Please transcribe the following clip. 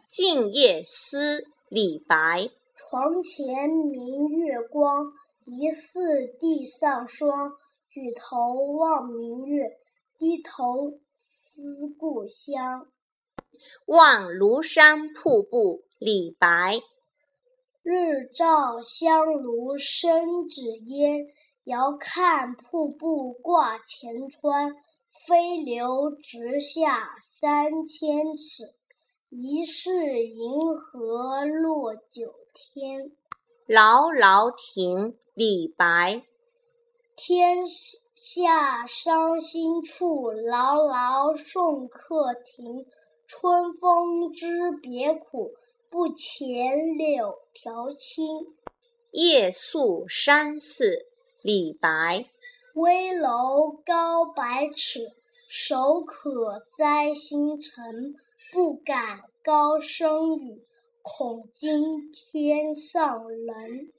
静夜思》李白。 床前明月光，疑是地上霜。举头望明月，低头思故乡。 望庐山瀑布李白。 日照香炉生紫烟，遥看瀑布挂前川。飞流直下3000尺，疑是银河落九天。 牢牢亭李白。 天下伤心处，牢牢送客亭。春风知别苦，不遣柳条青。 夜宿山寺李白。 危楼高百尺，手可摘星辰。不敢高声语，恐惊天上人。